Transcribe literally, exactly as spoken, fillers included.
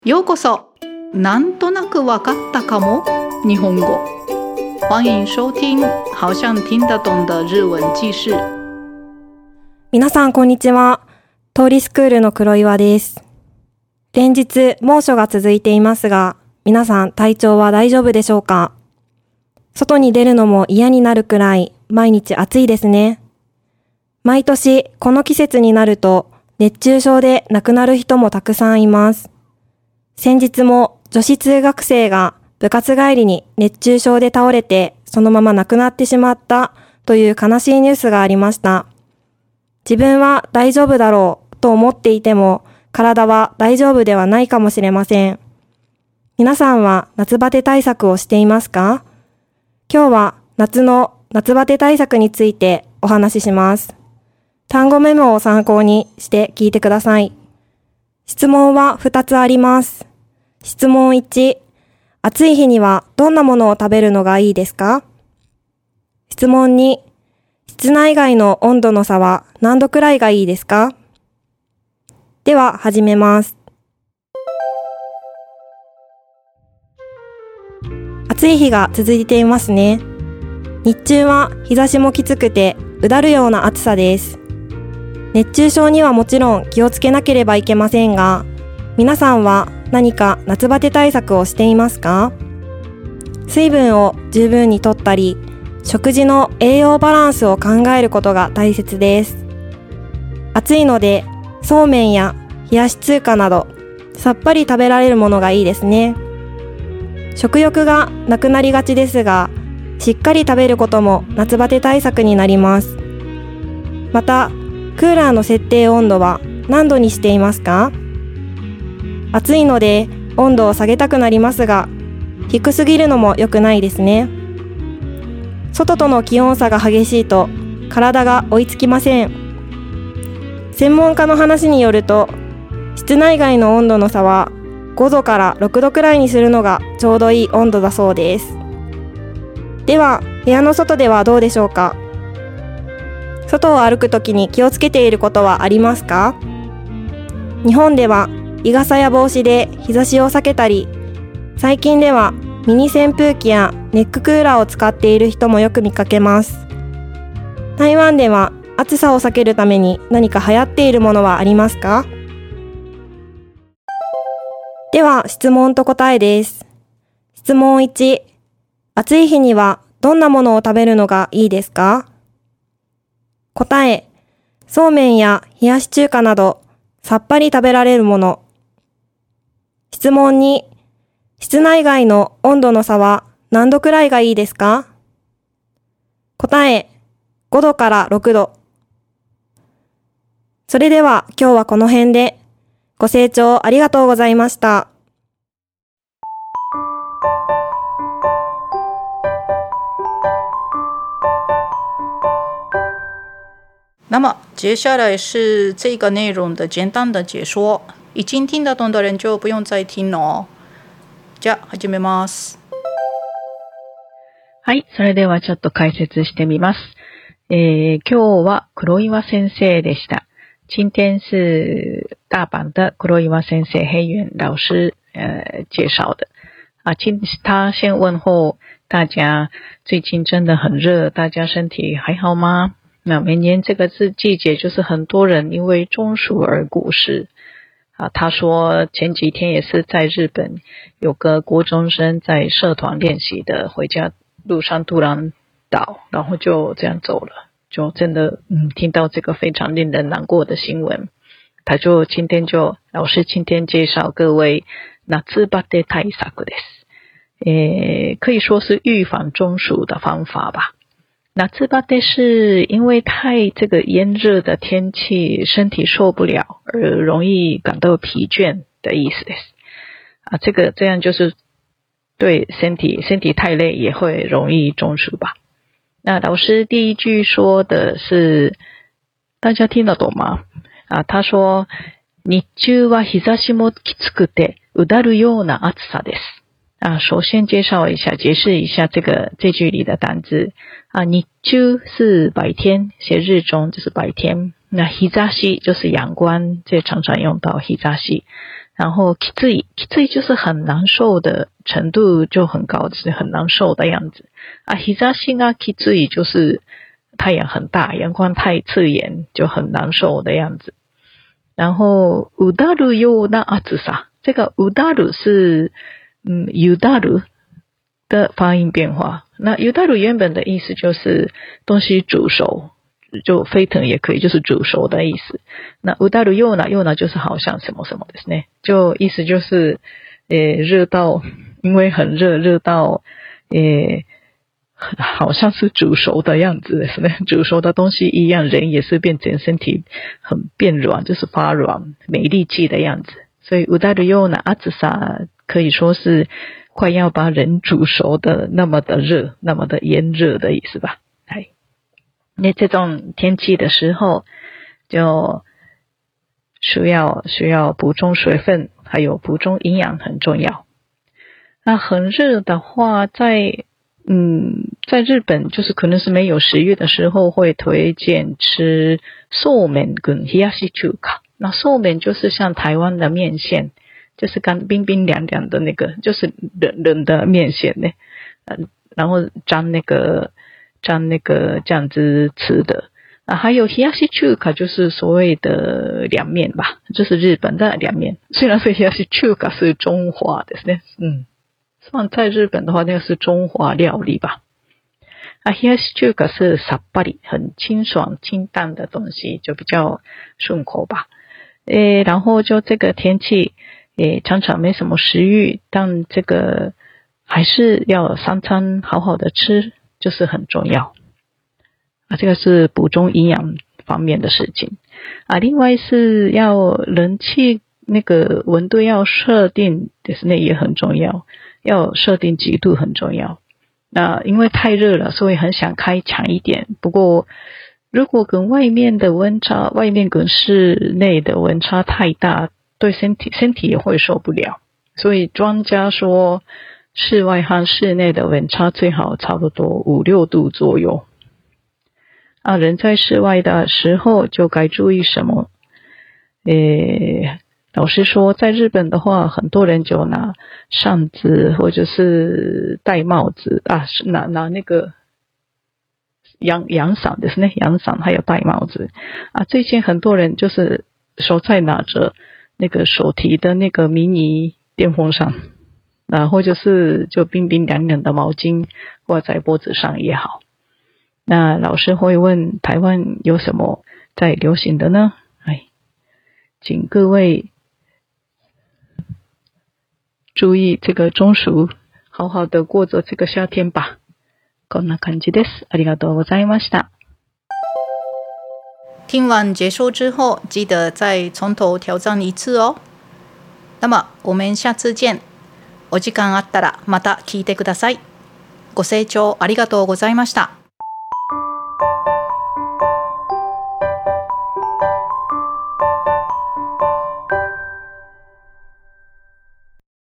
ようこそ，なんとなくわかったかも日本語。欢迎收听，好像听得懂的日文記事。 皆さんこんにちは。通りスクールの黒岩です。連日猛暑が続いていますが、皆さん体調は大丈夫でしょうか？外に出るのも嫌になるくらい毎日暑いですね。毎年この季節になると熱中症で亡くなる人もたくさんいます。先日も女子通学生が部活帰りに熱中症で倒れてそのまま亡くなってしまったという悲しいニュースがありました。自分は大丈夫だろうと思っていても体は大丈夫ではないかもしれません。皆さんは夏バテ対策をしていますか？今日は夏の夏バテ対策についてお話しします。単語メモを参考にして聞いてください。質問はふたつあります。質問いち、暑い日にはどんなものを食べるのがいいですか？質問に、室内外の温度の差は何度くらいがいいですか？では始めます。暑い日が続いていますね。日中は日差しもきつくてうだるような暑さです。熱中症にはもちろん気をつけなければいけませんが、皆さんは何か夏バテ対策をしていますか？水分を十分にとったり、食事の栄養バランスを考えることが大切です。暑いので、そうめんや冷やし中華など、さっぱり食べられるものがいいですね。食欲がなくなりがちですが、しっかり食べることも夏バテ対策になります。また、クーラーの設定温度は何度にしていますか？暑いので温度を下げたくなりますが、低すぎるのも良くないですね。外との気温差が激しいと体が追いつきません。専門家の話によると、室内外の温度の差はごどからろくどくらいにするのがちょうどいい温度だそうです。では、部屋の外ではどうでしょうか？外を歩くときに気をつけていることはありますか？日本では日傘や帽子で日差しを避けたり、最近ではミニ扇風機やネッククーラーを使っている人もよく見かけます。台湾では暑さを避けるために何か流行っているものはありますか？では質問と答えです。質問いち、暑い日にはどんなものを食べるのがいいですか？答え、そうめんや冷やし中華などさっぱり食べられるもの。質問に、室内外の温度の差は何度くらいがいいですか？答え、ごどからろくど。それでは今日はこの辺で。ご清聴ありがとうございました。 那么接下来是这个内容的简单的解说，已经听得懂的人就不用再听了哦。じゃあ始めます。 はい、それではちょっと解説してみます。えー、今日は黒岩先生でした。今天是大阪的黒岩先生黑原老师呃介绍的。啊，今他先问候大家，最近真的很热，大家身体还好吗？那每年这个是季节，就是很多人因为中暑而过世。啊，他说前几天也是在日本有个国中生在社团练习的，回家路上突然倒，然后就这样走了，就真的嗯听到这个非常令人难过的新闻。他就今天就老师今天介绍各位夏バテ対策です。诶，可以说是预防中暑的方法吧。夏バテ是因为太这个炎热的天气，身体受不了而容易感到疲倦的意思です。啊，这个这样就是对身体身体太累也会容易中暑吧。那老师第一句说的是，大家听得懂吗？啊，他说日中は日差しもきつくてうだるような暑さです。啊，首先介绍一下，解释一下这个这句里的单字啊。日中是白天，写日中就是白天。那日差し就是阳光，这常常用到日差し。 然后きついきつい就是很难受的程度就很高，就是很难受的样子啊。日差しがきつい就是太阳很大，阳光太刺眼就很难受的样子。然后うだるような暑さ，这个うだる是嗯ゆだる的发音变化。那ゆだる原本的意思就是东西煮熟，就沸腾也可以，就是煮熟的意思。那うだるようなような就是好像什么什么ですね，就意思就是呃热到，因为很热，热到呃好像是煮熟的样子ですね，煮熟的东西一样，人也是变成身体很变软，就是发软没力气的样子。所以うだるような暑さ可以说是快要把人煮熟的那么的热，那么的炎热的意思吧。哎，那这种天气的时候就需要需要补充水分，还有补充营养很重要。那很热的话，在嗯，在日本就是可能是没有食欲的时候，会推荐吃寿面跟冷やし中華。那寿面就是像台湾的面线，就是干冰冰凉凉的那个，就是冷冷的面线呢，嗯，然后沾那个沾那个酱汁吃的。啊，还有冷やし中華就是所谓的凉面吧，就是日本的凉面。虽然说冷やし中華是中华的呢，嗯。放在日本的话，那个是中华料理吧。啊，冷やし中華是さっぱり，很清爽清淡的东西，就比较顺口吧。诶，然后就这个天气，诶，常常没什么食欲，但这个还是要三餐好好的吃，就是很重要。啊，这个是补充营养方面的事情。啊，另外是要冷气那个温度要设定，就是那也很重要。要设定几度很重要。那因为太热了，所以很想开强一点。不过如果跟外面的温差，外面跟室内的温差太大，对身体身体也会受不了。所以专家说，室外和室内的温差最好差不多五六度左右。啊，人在室外的时候就该注意什么？诶。老实说，在日本的话，很多人就拿扇子或者是戴帽子啊，拿拿那个阳阳伞ですね，阳伞还有戴帽子啊。最近很多人就是手在拿着那个手提的那个迷你电风扇啊，或者是就冰冰凉凉的毛巾挂在脖子上也好。那老师会问台湾有什么在流行的呢？哎，请各位注意这个中暑，好好的过着这个夏天吧。こんな感じです。ありがとうございました。 听完解说之后，记得再从头挑战一次哦。那么我们下次见。お時間あったらまた聞いてください。ご清聴ありがとうございました。